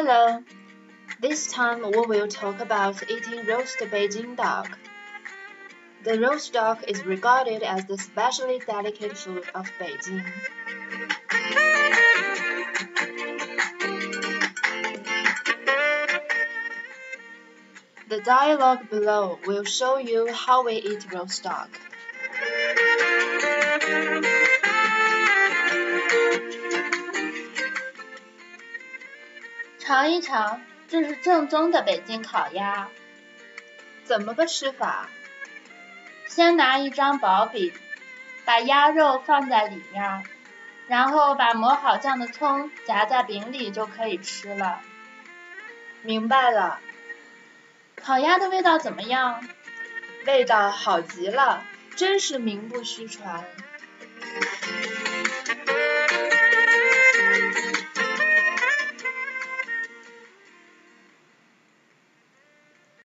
Hello, this time we will talk about eating roast Beijing duck. The roast duck is regarded as the specially delicate food of Beijing. The dialogue below will show you how we eat roast duck. 尝一尝，这是正宗的北京烤鸭。 怎么个吃法？ 先拿一张薄饼，把鸭肉放在里面，然后把磨好酱的葱夹在饼里就可以吃了。 明白了。 烤鸭的味道怎么样？ 味道好极了，真是名不虚传。